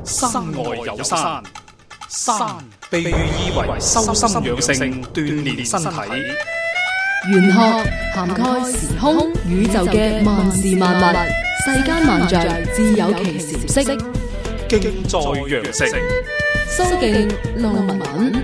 山外有山，山被寓意為修心養性、鍛煉身體。 玄學涵蓋時空宇宙嘅萬事萬物，世間萬象自有其時色。 敬在羊城， 蘇敬路文。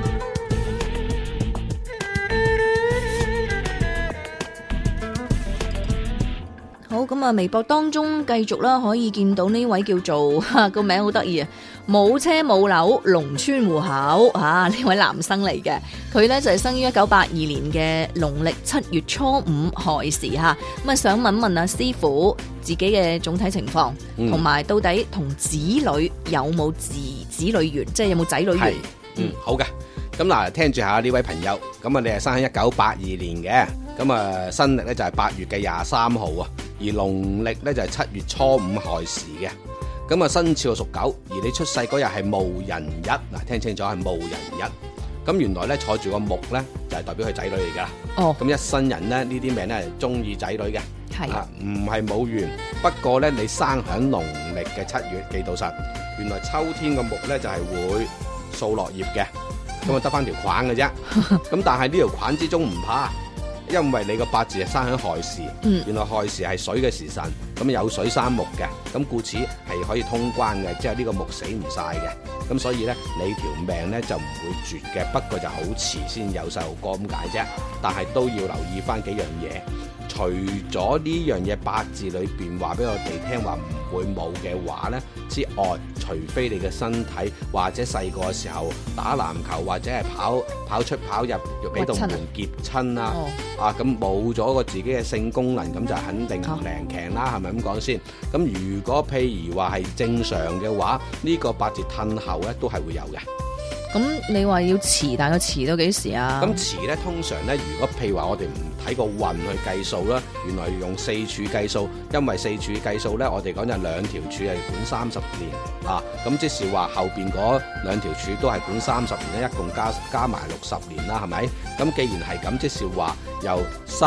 好，咁啊，微博當中繼續啦，可以見到呢位叫做個名好得意啊，冇車冇樓農村戶口啊，呢位男生嚟嘅，佢呢就係生於1982年嘅農曆7月初5亥時吓，咁啊想問問師傅自己嘅總體情況，同埋到底同子女有冇子女緣，即係有冇仔女緣？ 好嘅，咁嗱，聽住下呢位朋友，咁啊你係生喺1982年嘅，咁啊新曆咧就係8月嘅23號啊。而農曆咧就係7月初5亥時嘅，咁啊生肖屬狗，而你出世嗰日係戊寅日，嗱聽清楚係戊寅日，咁原來咧坐住個木咧就係代表佢仔女嚟噶，哦，咁一生人咧呢啲命咧係中意仔女嘅，係啊，唔係冇緣，不過咧你生響農曆嘅7月，記到實，原來秋天個木咧就係會掃落葉嘅，咁啊得翻條框嘅啫，咁但係呢條框之中唔怕。因為你個八字係生喺亥時，原來亥時係水嘅時辰，咁有水生木嘅，咁故此係可以通關嘅，即係呢個木死唔晒嘅，咁所以咧你條命咧就唔會絕嘅，不過就好遲先有細路哥咁解啫，但係都要留意翻幾樣嘢，除咗呢樣嘢八字裏邊話俾我哋聽話唔會冇嘅話咧之外，除非你嘅身體或者細個嘅時候打籃球或者係跑出跑入俾道門夾親啊。啊咁冇咗個自己嘅性功能，咁就肯定唔靈強啦，係咪咁講先？咁如果譬如話係正常嘅話，呢個八字褪後咧都係會有嘅。 咁你話要遲，大概遲到幾時啊？咁遲咧，通常咧，如果譬如話我哋唔睇個運去計數啦，原來用四柱計數，因為四柱計數咧，我哋講就兩條柱係管30年啊，咁即是話後邊嗰兩條柱都係管30年咧，一共加埋60年啦，係咪？咁既然係咁，即是話由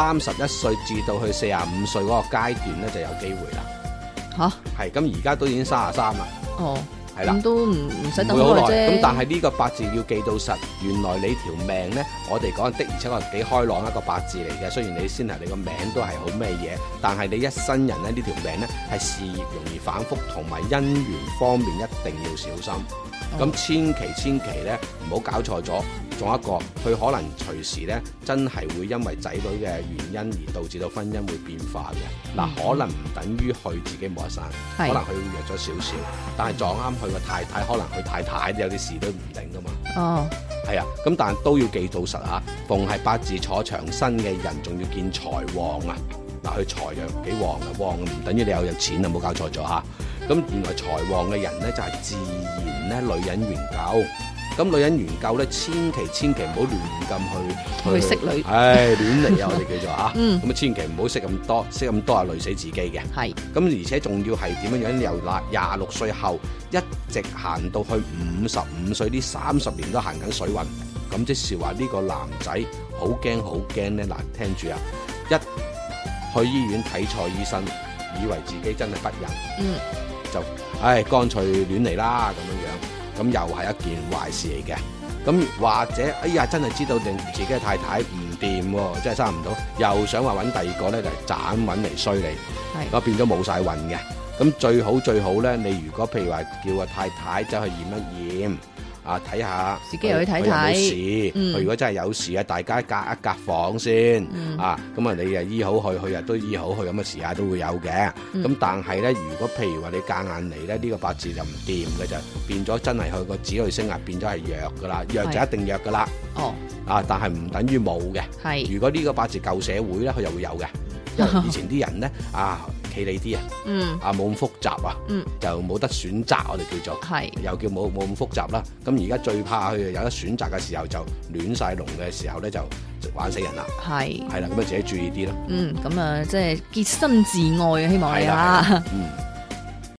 31歲至到去45歲嗰個階段咧，就有機會啦。嚇，係咁而家都已經33啦。哦。係啦，咁都唔使等好耐啫。咁但係呢個八字要記到實，原來你條命咧，我哋講的而且確幾開朗一個八字嚟嘅。雖然你先係你個名都係好咩嘢，但係你一生人咧呢條命咧係事業容易反覆，同埋姻緣方面一定要小心。咁千祈咧唔好搞錯咗。仲有一個，佢可能隨時咧真係會因為仔女嘅原因而導致到婚姻會變化嘅。嗱，可能唔等於佢自己冇得生，可能佢會弱咗少少，但係撞啱佢個太太，可能佢太太有啲事都唔定噶嘛。哦，係啊，咁但係都要記到實啊。逢係八字坐長身嘅人，仲要見財旺啊！嗱，佢財又幾旺嘅，旺唔等於你有錢啊，冇搞錯咗嚇。咁原來財旺嘅人咧就係自然咧女人緣夠。咁女人緣夠咧，千祈唔好亂咁去識女，亂嚟啊！我哋叫做啊，咁啊千祈唔好識咁多啊，累死自己嘅。係，咁而且仲要係點樣？由26歲後一直行到去55歲，呢30年都行緊水運。咁即是話呢個男仔好驚咧！嗱，聽住啊，一去醫院睇錯醫生，以為自己真係不孕，就乾脆亂嚟啦咁樣。咁又係一件壞事嚟嘅，咁或者真係知道定自己嘅太太唔掂喎，真係生唔到，又想話揾第二個咧就斬揾嚟衰你，咁變咗冇晒運嘅。咁最好咧，你如果譬如話叫個太太走去驗一驗。睇下自己又去睇睇，有冇事。佢如果真係有事啊，大家隔一隔房先。咁啊，你啊醫好佢，佢啊都醫好佢，咁嘅時間都會有嘅。咁但係咧，如果譬如話你夾硬嚟咧，呢個八字就唔掂嘅，就變咗真係佢個子女星啊變咗係弱噶啦，弱就一定弱噶啦。哦。但係唔等於冇嘅。係。如果呢個八字舊社會咧，佢又會有嘅。因為以前啲人咧企理啲冇咁複雜就冇得選擇，我哋叫做又叫冇咁複雜啦。咁而家最怕佢有得選擇嘅時候就亂晒龍嘅時候咧就玩死人啦。係啦，咁啊自己注意啲咯。咁啊即係潔身自愛啊，希望你